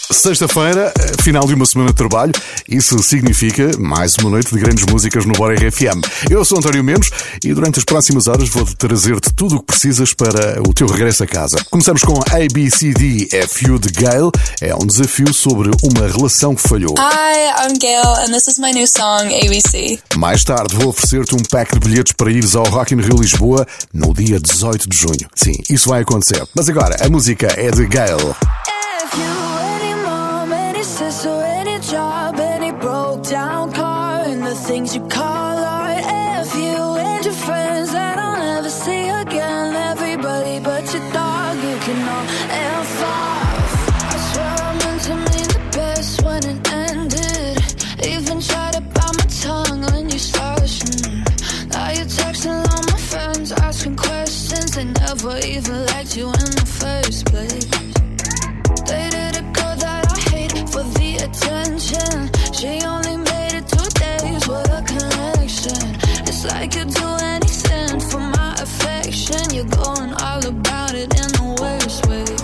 Sexta-feira, final de uma semana de trabalho. Isso significa mais uma noite de grandes músicas no Bora RFM. Eu sou António Mendes e durante as próximas horas vou trazer-te tudo o que precisas para o teu regresso a casa. Começamos com ABCDFU de Gayle. É um desafio sobre uma relação que falhou. Hi, I'm Gayle and this is my new song, ABC. Mais tarde vou oferecer-te um pack de bilhetes para ires ao Rock in Rio Lisboa no dia 18 de junho. Sim, isso vai acontecer. Mas agora, a música é de Gayle. Things you call art. F you and your friends that I'll never see again. Everybody but your dog, you can all F off. I swear I meant to mean the best when it ended. Even tried to bite my tongue when you started. Now you're texting all my friends, asking questions. They never even liked you in the first place. Dated a girl that I hate for the attention. She only made it 2 days. What a connection. It's like you'd do anything for my affection. You're going all about it in the worst ways.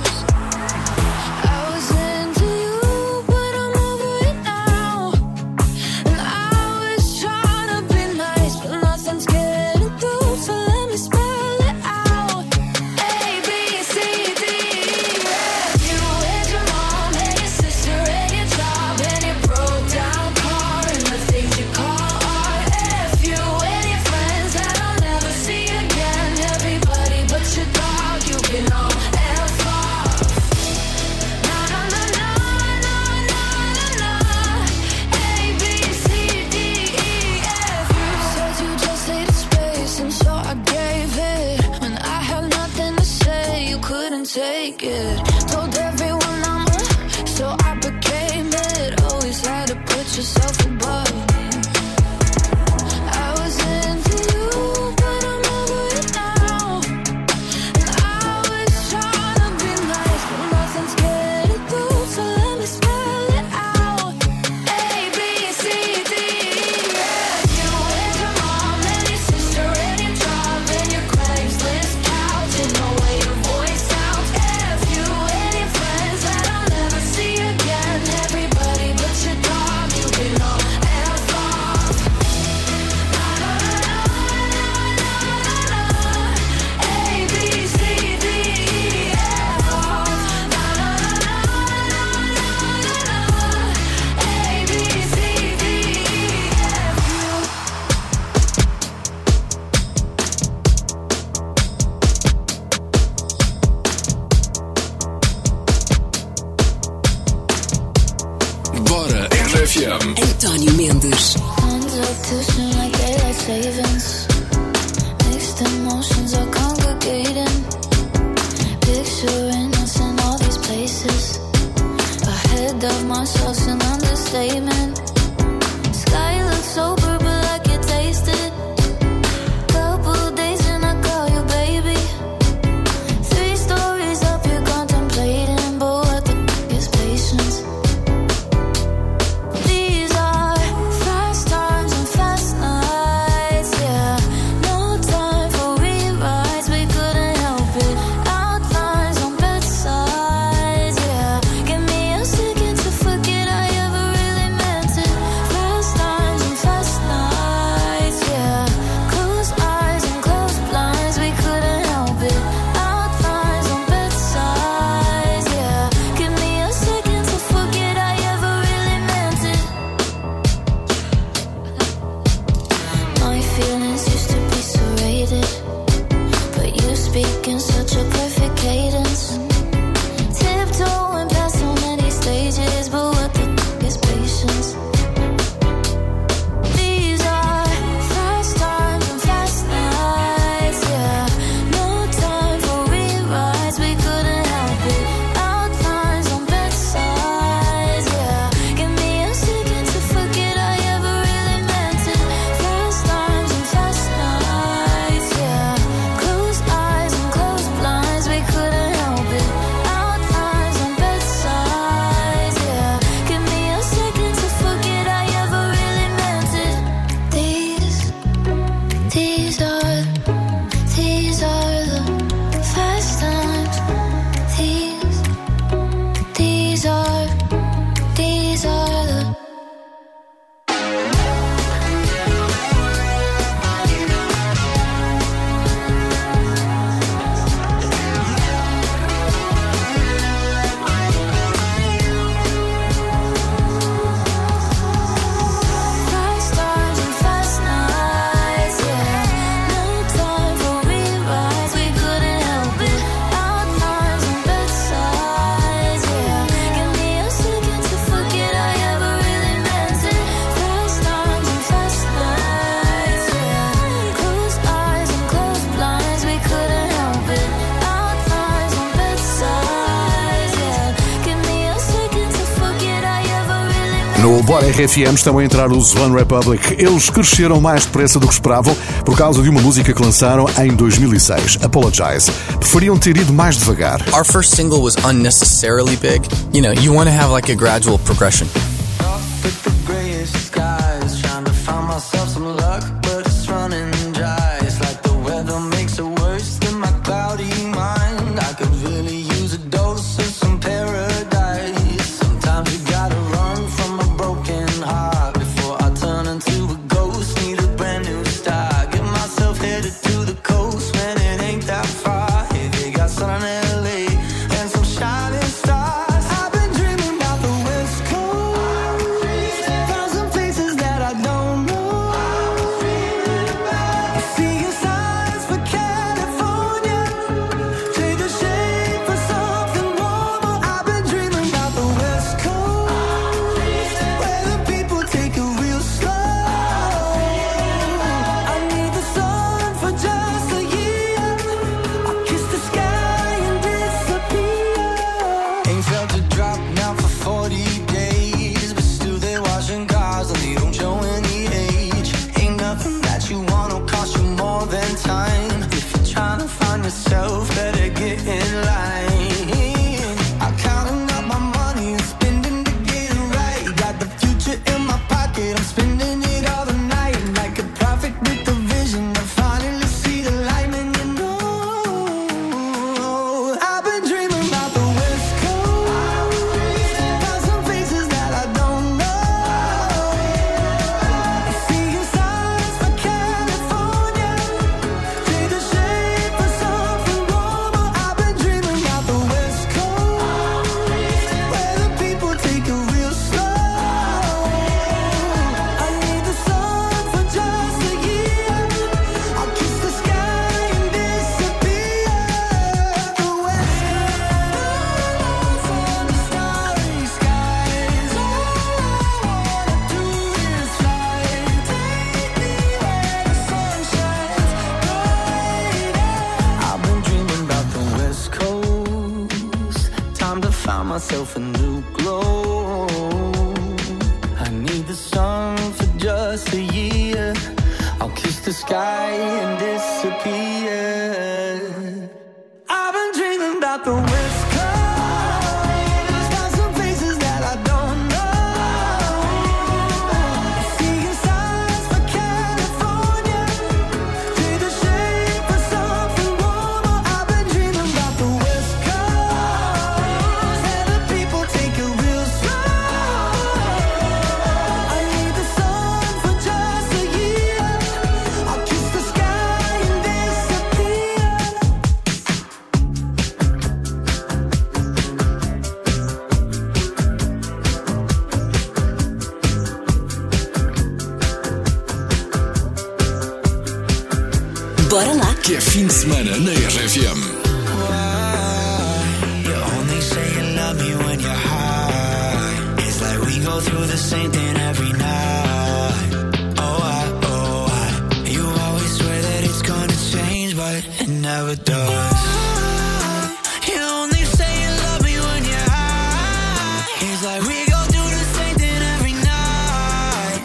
I was into you, but I'm over it now. And I was trying to be nice, but nothing's getting through. So let me spell it out. A, B, C, D, E, F. You and your mom and your sister and your job and your broke down car and the things you call art. F you and your friends that I'll never see again. Everybody but your dog, you can all F off. Na na na na na na na na. A, B, C, D, E, F. You said you just needed space and so I gave it. When I had nothing to say, you couldn't take it. Told everyone I'm a, so I became it. Always had to put yourself above me. I was into you, but I'm over it now. And I was trying to be nice, but nothing's getting through. So let me spell it out. A, B, C, D, E, F. You and your mom and your sister and your job and your Craigslist couch and the way your voice sounds. F you and your friends that I'll never see again. Everybody but your dog, you can all F off. Na na na na na na na. A, B, C, D, E, F off. Na na na na na na na. A, B, C, D, E, F. Bora RFM. António Mendes. Hands up pushing like daylight savings. Mixed emotions are congregating. Picturing us in all these places. Ahead of myself's an understatement. Sky looks sober but I can taste it. Couple days and I call you baby. 3 stories up you're contemplating. But what the is patience? These are fast times and fast nights, yeah. No time for rewrites, we couldn't help it. Outlines on bedsides, yeah. Give me a second to forget I ever really meant No Bora RFM estão a entrar os One Republic. Eles cresceram mais depressa do que esperavam por causa de uma música que lançaram em 2006, Apologize. Preferiam ter ido mais devagar. Our first single was unnecessarily big. You know, you want to have like a gradual progression. Myself a new glow. I need the sun for just a year. I'll kiss the sky and disappear. I've been dreaming about the West Coast. Found some places that I don't know. Seeing signs for California. Take the shape of something warmer. I've been dreaming about the West Coast. Take it real slow. I need the sun for just a year. I'll kiss the sky and disappear. Bora lá. Que é fim de semana na RFM. Go through the same thing every night. You always swear that it's gonna change, but it never does. You only say you love me when you're high. It's like we go through the same thing every night.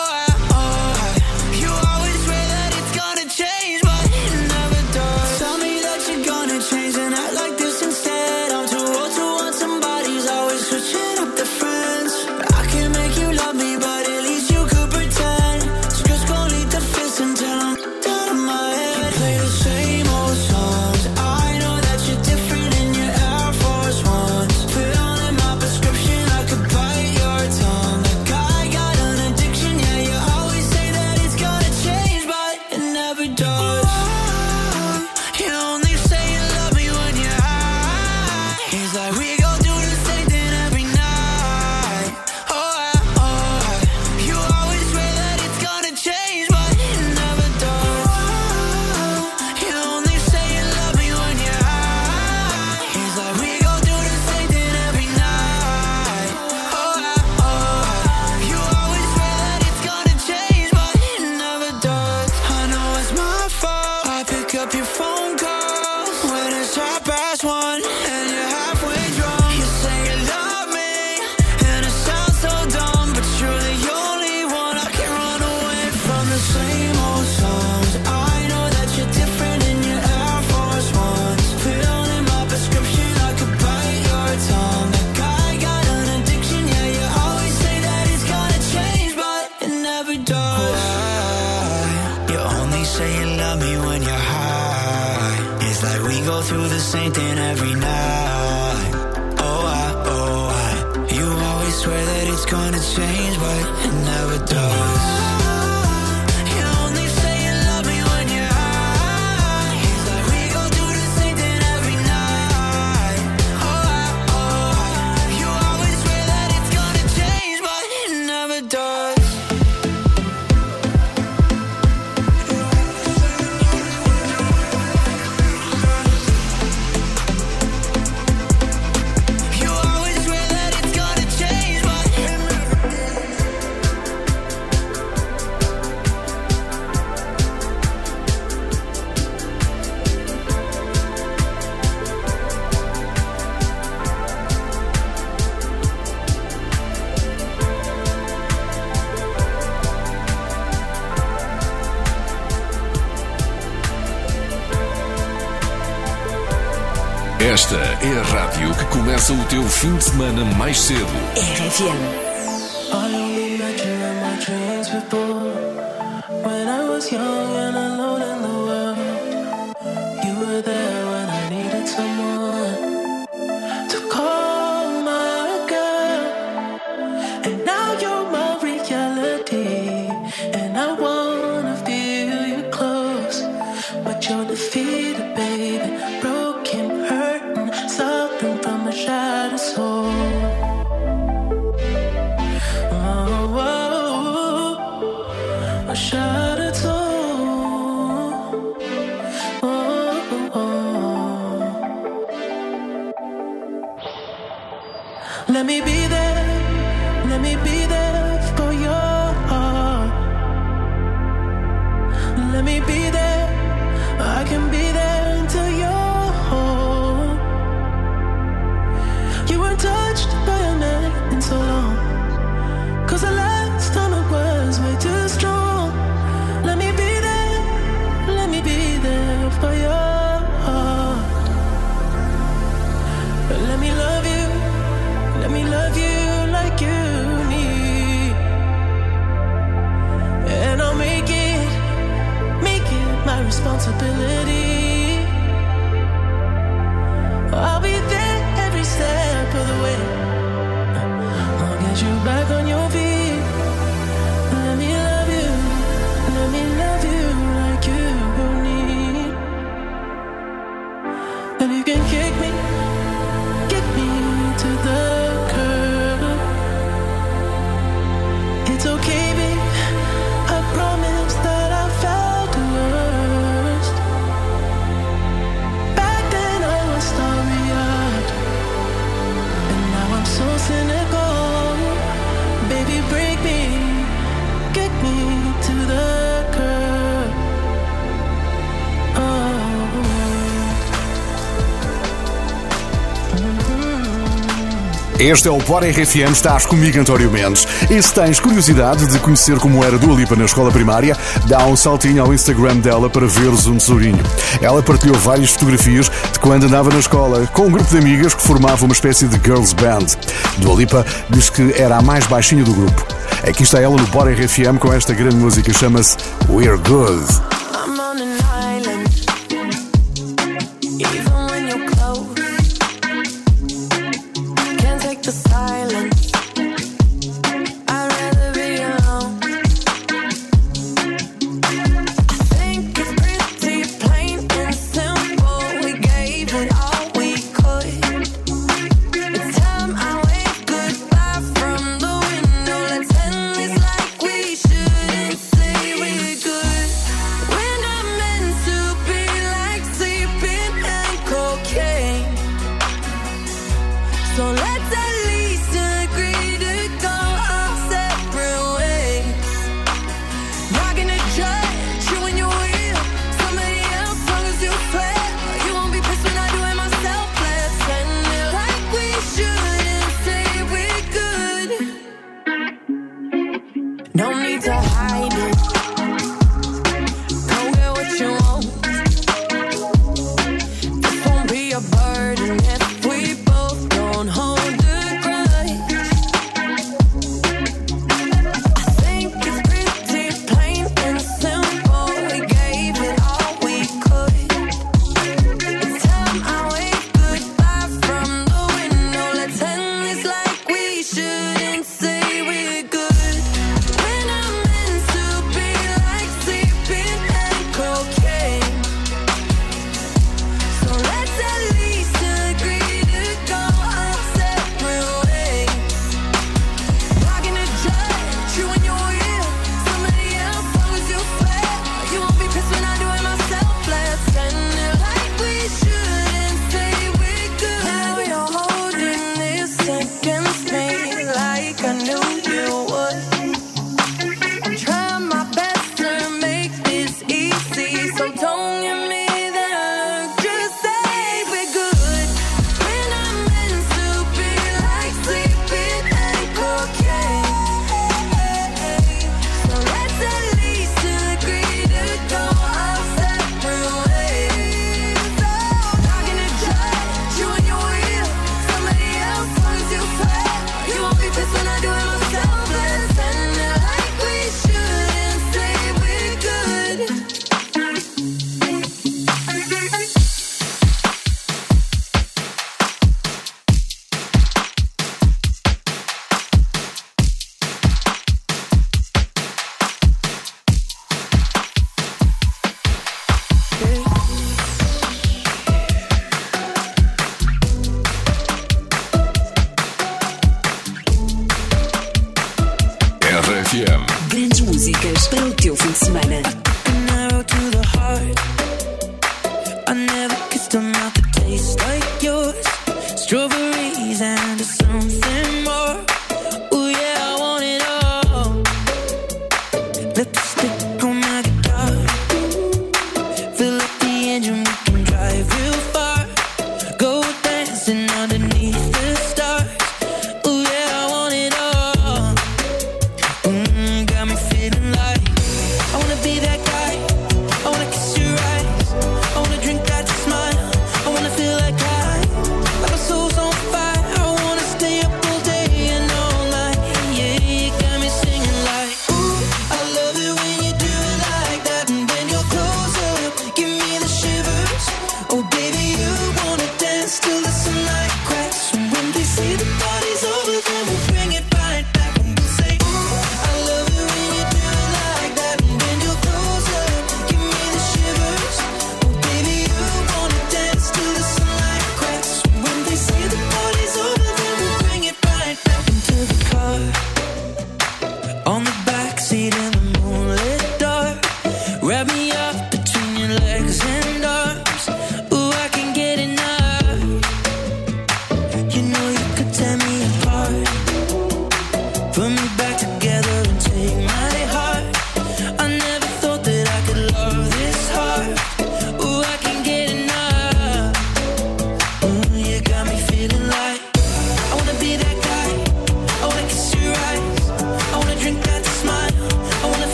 You always swear that it's gonna change, but it never does. Tell me that you're gonna change and act like this instead. I'm too old to want somebody's always switching up the friends. You love me, but same thing every night. Oh, you always swear that it's gonna change, but it never does. You only say you love me when you're high. It's like we go do the same thing every night. Oh, you always swear that it's gonna change, but it never does. Esta é a rádio que começa o teu fim de semana mais cedo. RFM. I only met you in my dreams before. When I was young and alone in the world, you were there when I needed someone to call my girl. And now you're my reality, and I wanna feel you close. But you're defeated, baby, broken, hurting, suffering from a shattered soul. A shattered soul. Let me be there for your heart. Let me be there, I can be there until you're home. You weren't touched by a man in so long, 'cause the last time it was way too strong. Let me be there for your heart. Let me love you like you need. And I'll make it my responsibility. I'll be there every step of the way. I'll get you back on your feet. Let me love you like you need. And you can kick me to the curb. It's okay, babe, I promise that I felt the worst. Back then I was starry-eyed, and now I'm so cynical. Baby, break me, get me to the curb. Este é o Bora RFM, estás comigo, António Mendes. E se tens curiosidade de conhecer como era Dua Lipa na escola primária, dá um saltinho ao Instagram dela para veres um tesourinho. Ela partilhou várias fotografias de quando andava na escola, com um grupo de amigas que formava uma espécie de girls band. Dua Lipa diz que era a mais baixinha do grupo. Aqui está ela no Bora RFM com esta grande música, chama-se We're Good. I'm on an island, even when you're close. Can't take the silence, I'd rather be alone. I think it's pretty plain and simple. We gave it all we could. It's time I wave goodbye from the window. Let's end this like we shouldn't say we're good. We're not meant to be like sleeping and cocaine. So let's at least agree to go our separate ways. Not gonna judge you when you will somebody else, long as you swear. You won't be pissed when I do it myself. Let's end it like we shouldn't say we're good. No need to hide it. Go get what you want. This won't be a burden if we both don't hold a grudge. I think it's pretty plain and simple. We gave it all we could. It's time I wave shouldn't say we're good when I'm meant to be like sleeping and cocaine. So let's at least agree to go our separate ways. Blocking the judge, you and your ear. Somebody else, long as you fair. You won't be pissed when I do it myself. Let's end it like we shouldn't say we're good. Now you're holding this against me like I knew you would. I'm trying my best to make this easy, so don't give me that look. Just say we're good when I'm meant to be like sleeping and cocaine. So let's at least agree to go our separate ways. Oh, knocking the judge, you and your ear. Somebody else, long as you fair. You won't be pissed when I do it myself. Let's end it like we shouldn't say we're good. RFM. Grandes músicas para o teu fim de semana. An arrow to the heart. I never kissed a mouth that tastes like yours. Strawberries and something more. Oh yeah, I want it all. Lipstick on my guitar. Fill up the engine, we can drive real far. Go dancing underneath the stars. Oh yeah, I want it all. Got me feeling like I wanna be that guy. I wanna kiss your eyes. I wanna drink that smile. I wanna feel like my soul's on fire. I wanna stay up all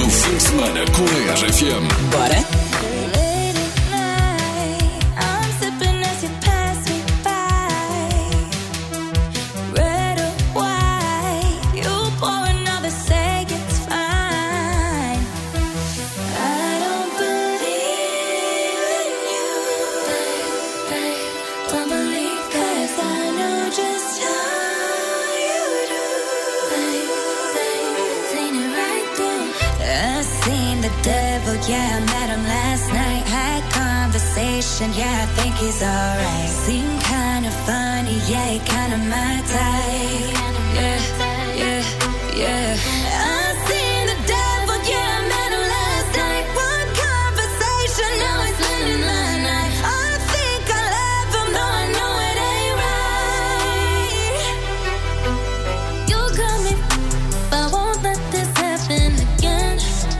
do fim de semana com a RFM. Bora? Late at night, I'm sipping as you pass me by. Red or white, you pour another, say it's fine. I don't believe in you, babe. Don't believe 'cause I know just how you do, babe. Seen it right through. I seen the devil, yeah, I met him last night. Had conversation, yeah, I think he's alright. Seemed kinda funny, yeah, he kinda my type. Yeah, yeah, yeah. I seen the devil, yeah, I met him last night. One conversation, now he's living my night. I think I love him, though I know it ain't right. You got me, but won't let this happen again.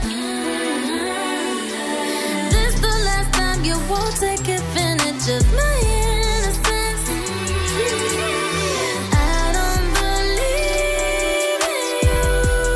This the last time you won't take advantage of my innocence. I don't believe in you.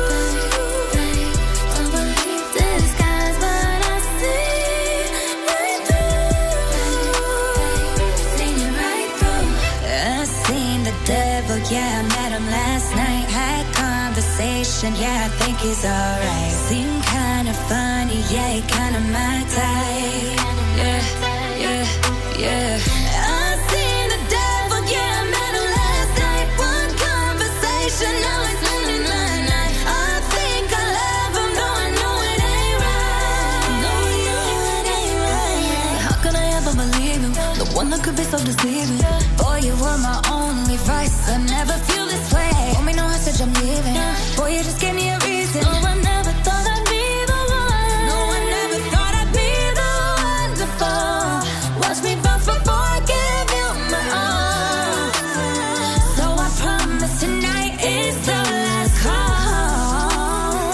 Don't believe disguise what I see right through. Seen it right through. I seen the devil, yeah, I met him last night. Had conversation, yeah, I think he's alright. Seemed kinda funny, yeah, he kinda my type. Yeah, yeah, yeah. I seen the devil, yeah, I met him last night. One conversation, now he's living my night. I think I love him, though I know it ain't right. No, it ain't right. How could I ever believe him? The one that could be so deceiving. Boy, you were my only vice. I never feel this way. Want me no hostage, I'm leaving. Boy, you just gave me a reason. No, I never thought I'd be the one. No, I never thought I'd be the one to fall. Watch me bounce before I give you my all. So I promise tonight is the last call.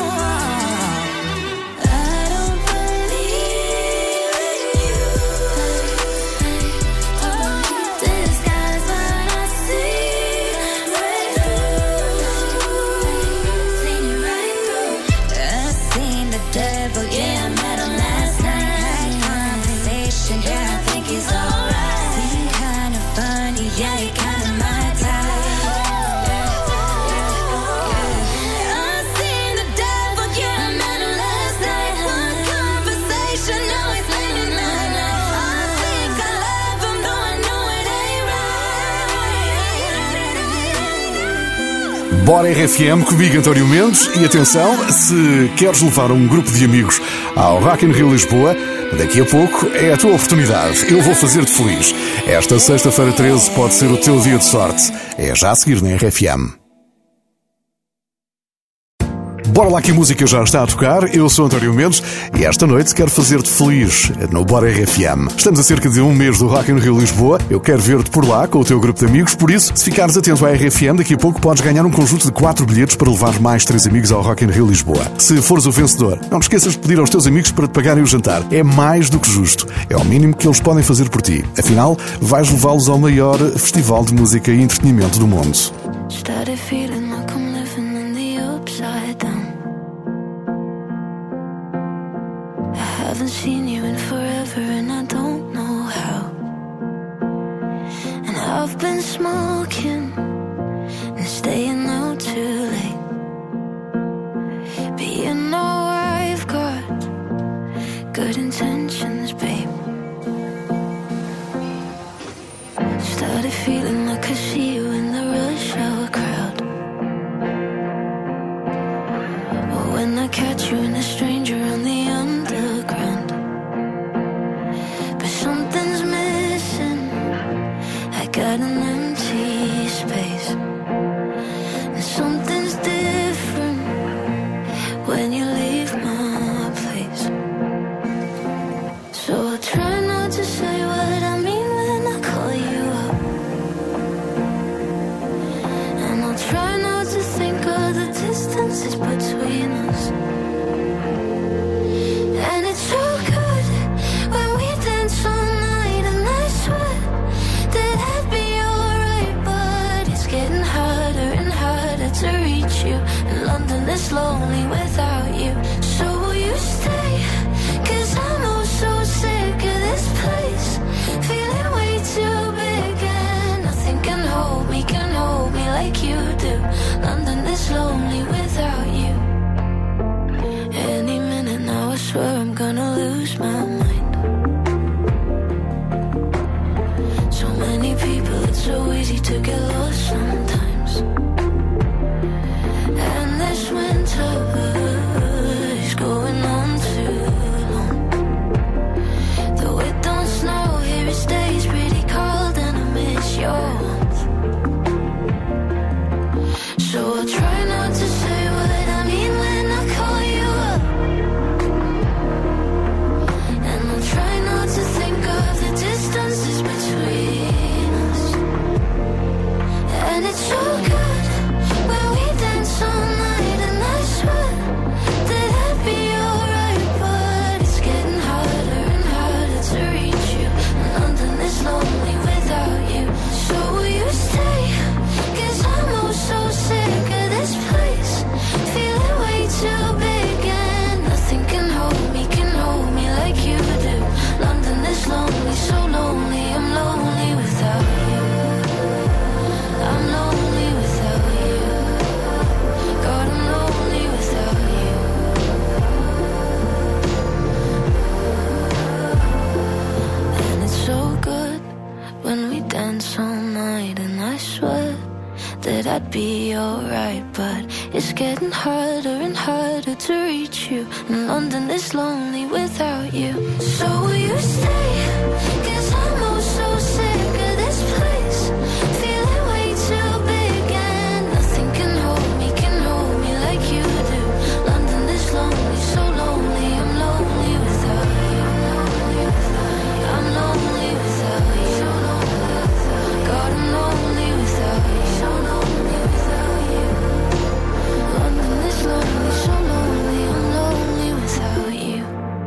I don't believe in you. Disguise what I see right through. Seen it right through. I seen the devil, yeah, I met him last night. Had conversation, yeah, I think he's alright. Seemed kinda funny, yeah, he kinda my type. I seen the devil, yeah, I met him last night. One conversation, now he's living my night. I think I love him, though I know it ain't right. Bora RFM, comigo António Mendes. E atenção, se queres levar um grupo de amigos ao Rock in Rio Lisboa, daqui a pouco é a tua oportunidade. Eu vou fazer-te feliz. Esta sexta-feira 13 pode ser o teu dia de sorte. É já a seguir na RFM. Bora lá que a música já está a tocar. Eu sou António Mendes e esta noite quero fazer-te feliz no Bora RFM. Estamos a cerca de um mês do Rock in Rio Lisboa. Eu quero ver-te por lá com o teu grupo de amigos. Por isso, se ficares atento à RFM, daqui a pouco podes ganhar um conjunto de 4 bilhetes para levar mais 3 amigos ao Rock in Rio Lisboa. Se fores o vencedor, não te esqueças de pedir aos teus amigos para te pagarem o jantar. É mais do que justo. É o mínimo que eles podem fazer por ti. Afinal, vais levá-los ao maior festival de música e entretenimento do mundo. Started feeling like I'm living in the upside down. I haven't seen you in forever and I don't know how. And I've been smoking and staying out too late. But you know I've got good intentions, babe. Started feeling like I see you in the rush hour crowd. Or when I catch you and a stranger on the underground. But something's missing. I got an empty space. And something's different when you leave my place. So I'll try this lonely without you. Any minute now, I swear I'm gonna lose my mind. So many people, it's so easy to get lost sometimes. And this winter is going on too long. Though it don't snow here, it stays pretty cold, and I miss your warmth. So I'll try not to say what I mean when I call you up, and I'll try not to think of the distances between us. And it's so good when we dance all night, and I swear that I'd be alright, but it's getting harder and harder to reach you, and London is lonely without you. So will you stay? 'Cause I'm oh so sick of this place, feeling way too big, and nothing can hold me like you do. London is lonely, so lonely, I'm lonely without you. I'm lonely without you. God, I'm lonely without you. And it's so good when we dance all night, and I swear that I'd be alright, but it's getting harder and harder to reach you, and London is lonely without you. So will you stay? 'Cause I'm oh so sick of this place, feeling way too big, and nothing can hold me like you do. London is lonely, so lonely, I'm lonely without you. I'm lonely without you. God, I'm lonely without you. So lonely without you. London is lonely, so lonely, I'm lonely without you.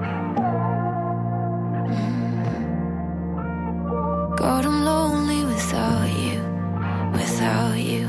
God, I'm lonely without you, without you.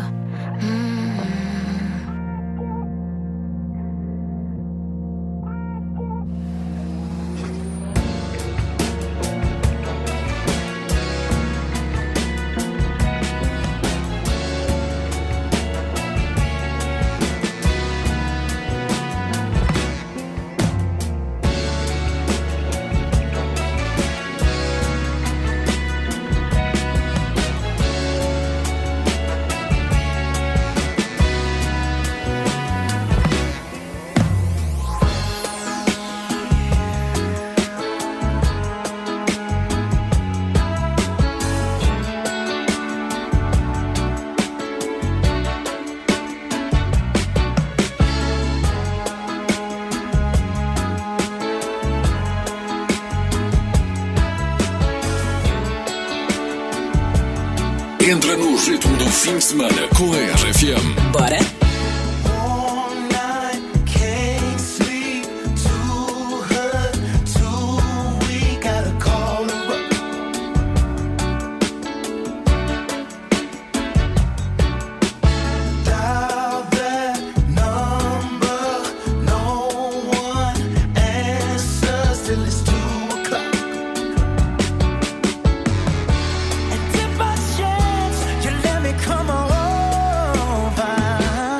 Entra no ritmo do fim de semana com a RFM. Bora? All night, can't sleep, too hurt, too weak, gotta call her up. Dial that number, no one answers till it's 2:00. And if by chance you let me come over,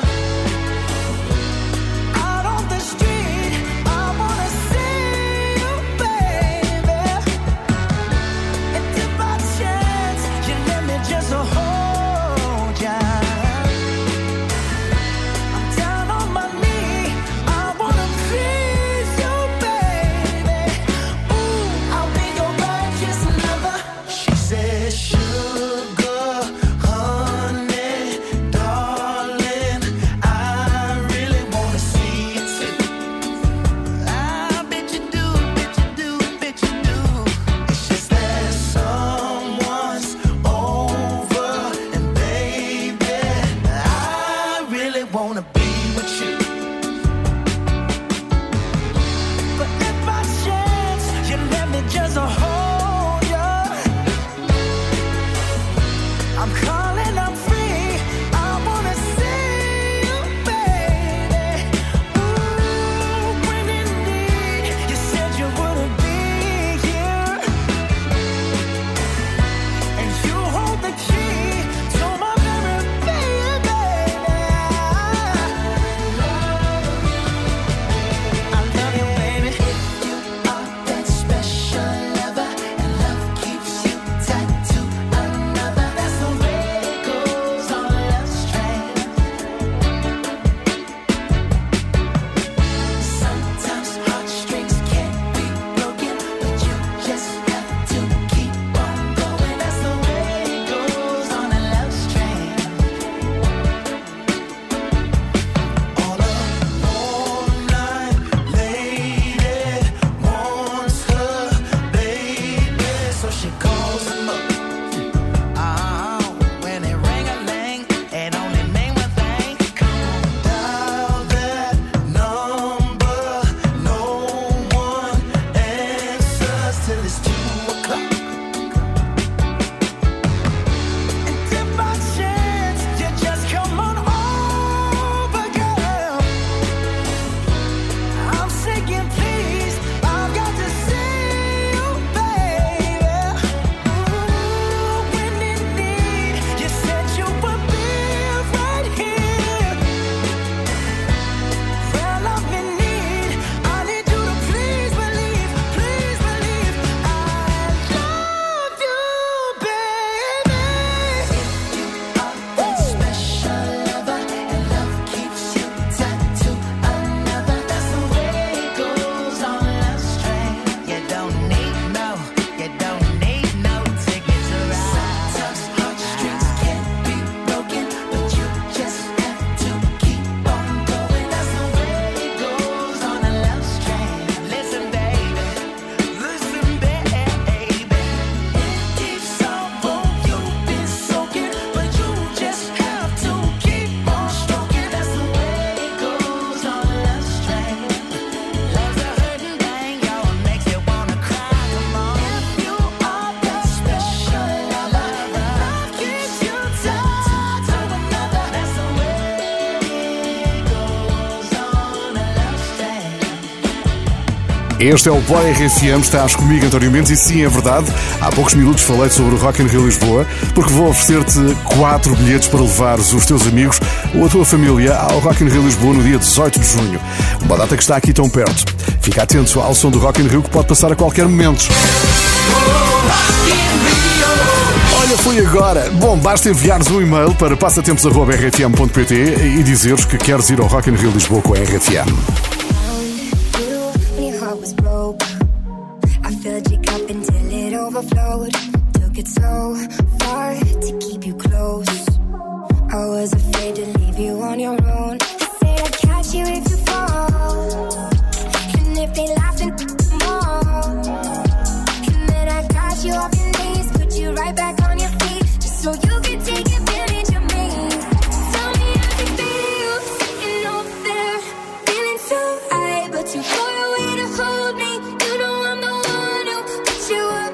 Este é o Boy RFM, estás comigo, António Mendes, e sim, é verdade, há poucos minutos falei sobre o Rock in Rio Lisboa, porque vou oferecer-te 4 bilhetes para levares os teus amigos ou a tua família ao Rock in Rio Lisboa no dia 18 de junho. Uma data que está aqui tão perto. Fica atento ao som do Rock in Rio que pode passar a qualquer momento. Olha, foi agora. Bom, basta enviares um e-mail para passatempos@rfm.pt e dizeres que queres ir ao Rock in Rio Lisboa com a RFM. Overflowed, took it so far to keep you close. I was afraid to leave you on your own. Said I'd catch you if you fall, and if they laugh and more, and then I got you off your knees, put you right back on your feet, just so you can take advantage of me. Tell me how you feel, sitting over there, feeling so high, but too far away to hold me. You know I'm the one who put you up.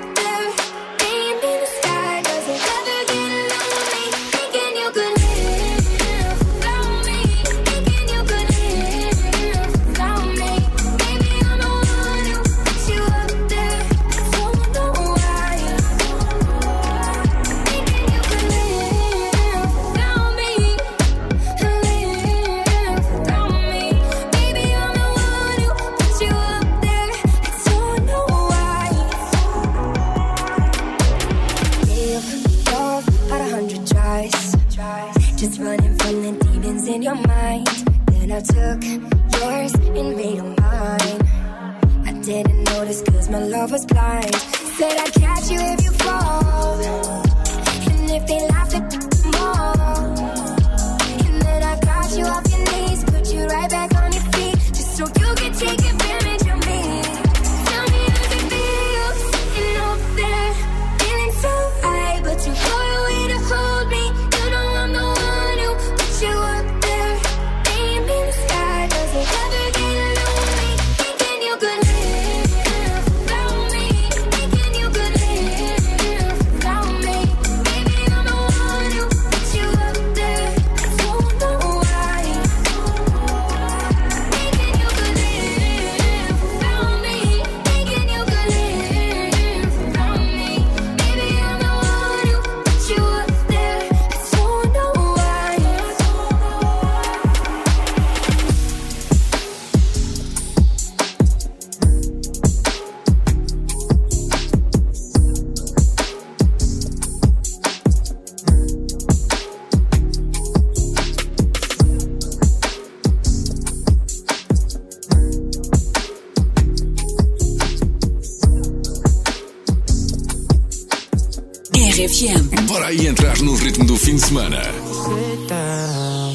Just running from the demons in your mind. Then I took yours and made them mine. I didn't notice cause my love was blind. Said I'd catch you if you fall, and if they laugh at more, and then I got you off your knees, put you right back on your feet, just so you can take advantage of me. Tell me how you feel, sitting over there, feeling so high, but too far away to hold me. You know I'm the one who put you up there. Aim in the sky, does it ever get lonely? Thinking you could live without me. Thinking you could live without me. Maybe I'm the one who put you up there. Don't know why. Thinking you could live without me. Thinking you could live without me. Maybe I'm the one who put you up there. Don't know why. RFM. Bora aí entrar no ritmo do fim de semana. Sit down.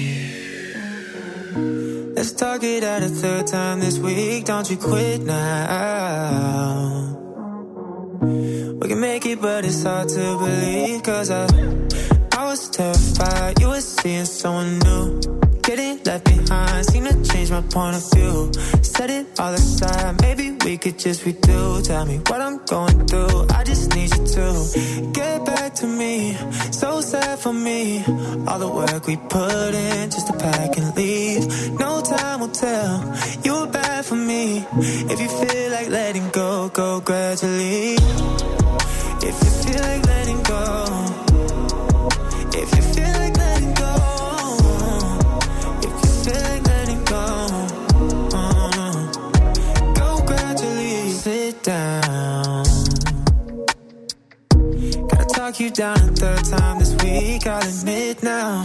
Let's talk it out a third time this week. Don't you quit now. We can make it, but it's hard to believe. Cause I was terrified. You were seeing someone new. Getting left behind. Seem to change my point of view. Set it all aside. Maybe we could just redo. Tell me what I'm going through. I just need you to get back to me. So sad for me. All the work we put in just to pack and leave. No time will tell. You were bad for me. If you feel like letting go, go gradually. If you feel like letting go. If you feel like letting go. If you feel like letting go. Go gradually. Sit down. Gotta talk you down a third time this week, I'll admit now.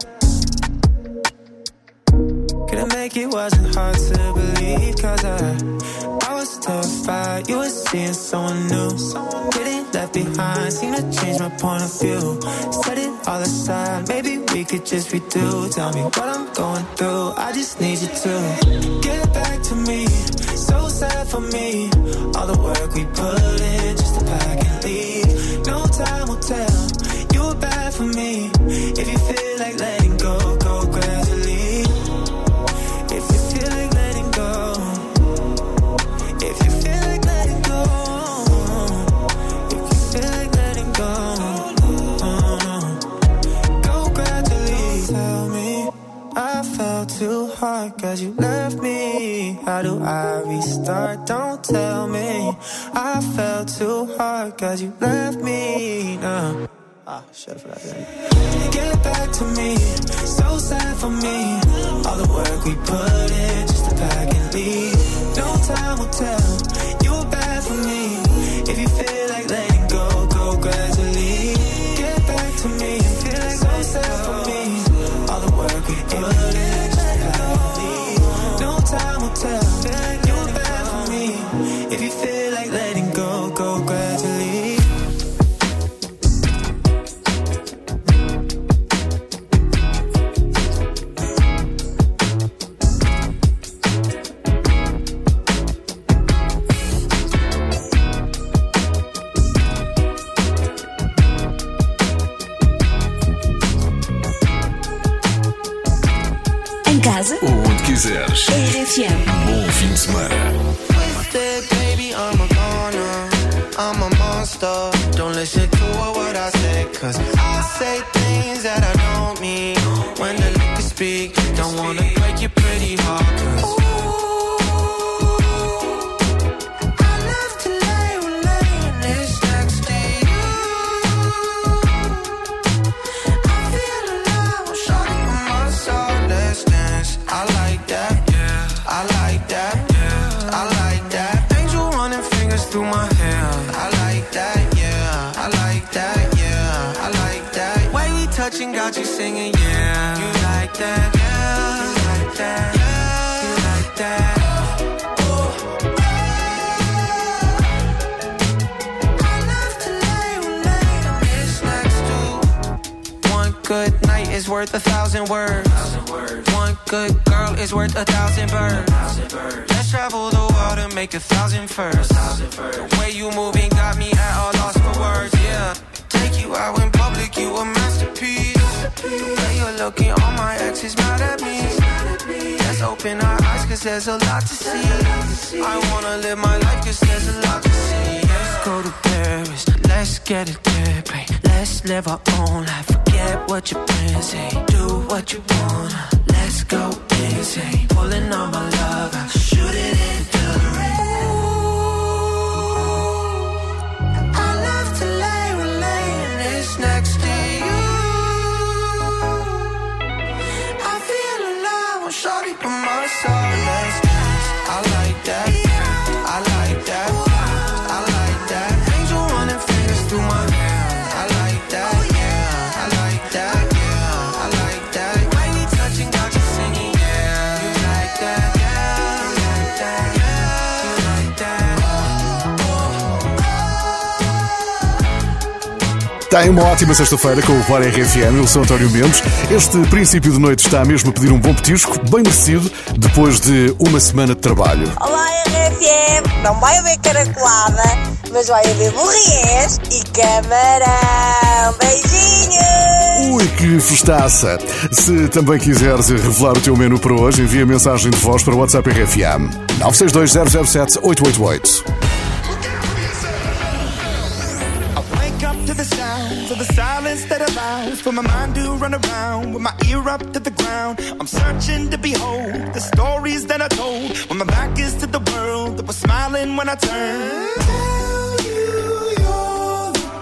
Couldn't make it, wasn't hard to believe. Cause I was terrified. You were seeing someone new. Getting left behind. Seem to change my point of view. Set it all aside. Maybe we could just redo. Tell me what I'm going through. I just need you to get back to me. So sad for me. All the work we put in just to pack and leave. No time will tell. You were bad for me. If you feel like letting go, go gradually. If you feel like letting go. If you feel like letting go. If you feel like letting go. Go gradually. Tell me I fell too hard cause you left me. me? How do I restart? Don't tell me. I fell too hard cause you left me. No. Shut up for that. Get back to me. So sad for me. All the work we put in just to pack and leave. No time will tell. You were bad for me. If you feel like letting go, go gradually. Get back to me. Feel like so sad for me. All the work we put in just to pack and leave. No time will tell. You were bad for me. If you feel like letting go, go gradually. Casa? Onde quiseres. RFM. Bom fim de semana. Twisted, baby, I'm a goner. I'm a monster. Don't listen to what I say, cause I say things that I don't mean. When the liquor speak, don't wanna break your pretty heart, cause I love to lay this next to you. I feel alive, I'm shawty on my side, let's dance. I like that, yeah. I like that, yeah. I like that. Angel running fingers through my hair. I like that, yeah. I like that, yeah. I like that. Way we touching got you singing, yeah. You like that, yeah. You like that, yeah. You like that. I love to lay this next to. One good night is worth 1,000 words. One good girl is worth 1,000 birds. Let's travel the world and make 1,000 firsts. The way you moving got me at a loss for words, yeah. Take you out in public, you a masterpiece. The way you're looking, all my exes mad at me. Let's open our eyes, cause there's a lot to see. I wanna live my life, cause there's a lot to see. Let's go to Paris, let's get it there, babe. Let's live our own life, forget what your friends say. Do what you wanna, let's go insane. Pulling on my love, I shoot it into the rain. I love to lay this next to you. I feel alive, I'm shawty by my side, let's dance. I like that, I like that, I like that. Angel running fingers through my hair. I like that, yeah. I like that, yeah. I like that. When we touching, got you singing, yeah. You like that, yeah. You like that, yeah. You like that. Tem uma ótima sexta-feira com o VAR RFM. Eu sou António Mendes. Este princípio de noite está mesmo a pedir um bom petisco, bem merecido, depois de uma semana de trabalho. Olá RFM, não vai haver caracolada, mas vai haver borriés e camarão. Beijinhos! Ui, que festaça! Se também quiseres revelar o teu menu para hoje, envia mensagem de voz para o WhatsApp RFM 962 007 888. To the sounds of the silence that allows for my mind to run around with my ear up to the ground. I'm searching to behold the stories that I told when my back is to the world that was smiling when I turned. Tell you you're the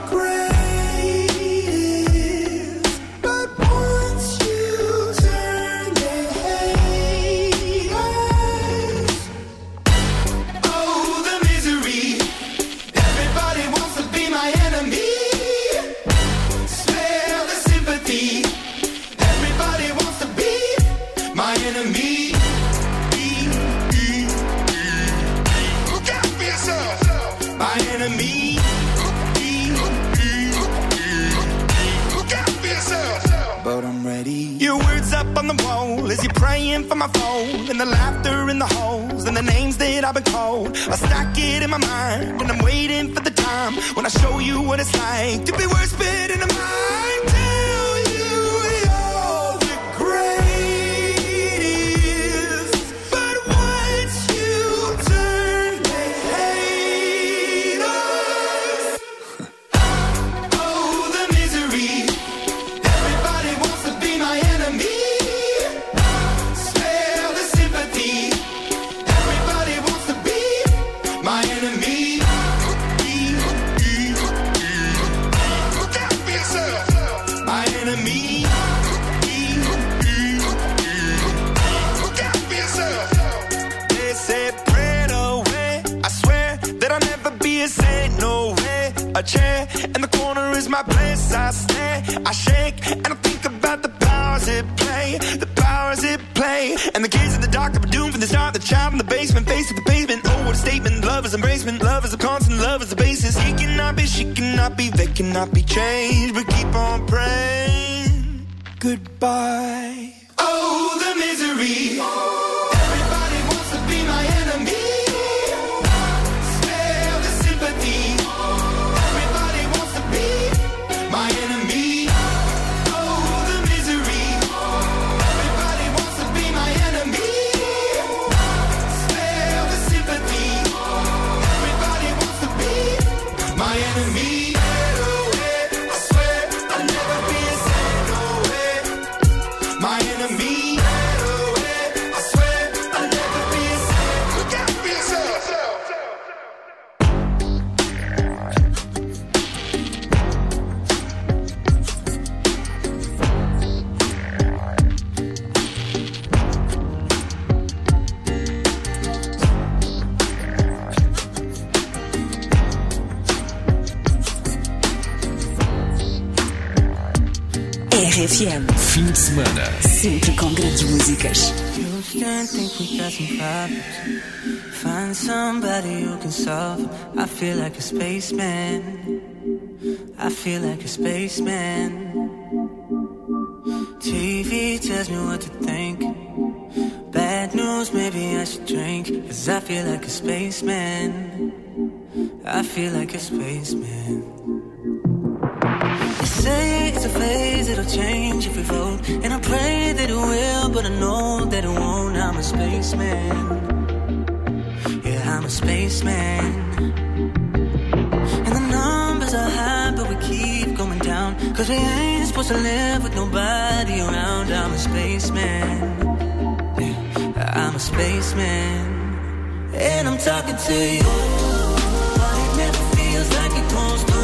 greatest, but once you turn, they hate us. Oh, the misery. Everybody wants to be my enemy. Everybody wants to be my enemy. Look out for yourself. My enemy. Look out for yourself. But I'm ready. Your words up on the wall as you're praying for my phone, and the laughter in the halls and the names that I've been called. I stack it in my mind and I'm waiting for the time when I show you what it's like to be worse fit in a mind. Tell you you're the greatest, but once you turn, they hate us. Oh, the misery. Everybody wants to be my enemy. Spare the sympathy. my enemy. Look out for yourself, my enemy. Look out for yourself. They said prayed away. I swear that I'll never be a saint. No way. A chair in the corner is my place. I stare, I shake, and I think about the powers it play. The powers it play. And the kids in the dark that were doomed from the start. The child in the basement, face to the pavement. Oh, what a statement. Love is embracement. Love is a constant. Love is the basis. He cannot be, she cannot be, they cannot be changed. But keep on praying. Goodbye. Oh, the misery. Everybody wants to be my enemy. Spare the sympathy. Everybody wants to be my enemy. Oh, the misery. Everybody wants to be my enemy. Spare the sympathy. Everybody wants to be my enemy. I swear I'll never be a saint. No way. My enemy. I swear I'll never be a saint. Look out for yourself. RFM, Fim de semana. sempre com grandes músicas. Houston, think we got some problems. Find somebody who can solve 'em. I feel like a spaceman. I feel like a spaceman. TV tells me what to think. Bad news, maybe I should drink. 'Cause I feel like a spaceman. I feel like a spaceman. They say it's a phase, it'll change if we vote. And I pray that it will, but I know that it won't. I'm a spaceman. Yeah, I'm a spaceman. And the numbers are high, but we keep going down. 'Cause we ain't supposed to live with nobody around. I'm a spaceman. Yeah, I'm a spaceman. And I'm talking to you, but it never feels like it goes through.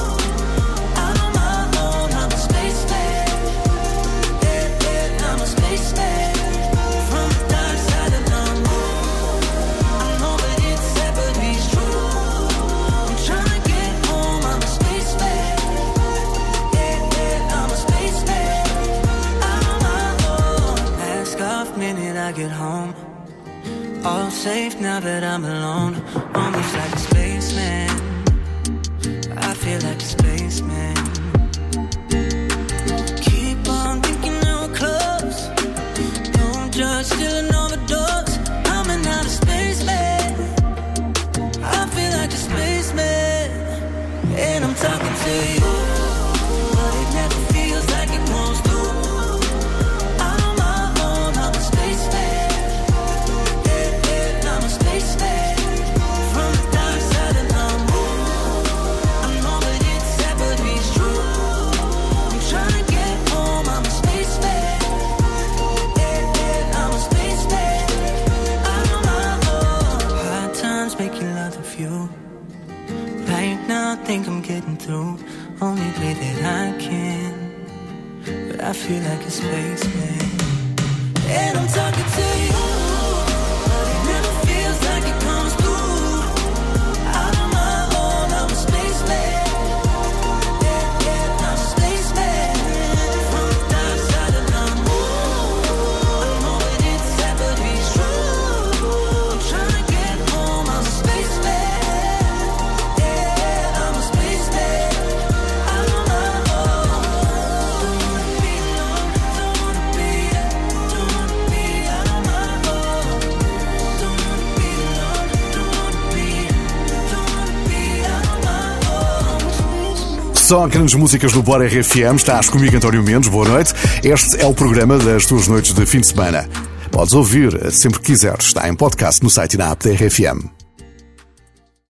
I get home, all safe now that I'm alone. Almost like a spaceman. I feel like a spaceman. Keep on thinking that we're close. Don't judge, still an overdose. I'm an outer spaceman. I feel like a spaceman. And I'm talking to you, but it never feels like it goes through. Think I'm getting through, only way that I can. But I feel like a spaceman. And I'm talking to you, but it never feels like it comes through. Out on my own, I'm a spaceman. Yeah, I'm a spaceman. From the dark side of the moon, I know that it's sad, but it's true. I'm trying to get home, I'm a spaceman. Só grandes músicas do Bora RFM. Estás comigo, António Mendes. Boa noite. Este é o programa das tuas noites de fim de semana. Podes ouvir sempre que quiseres. Está em podcast no site e na app da RFM.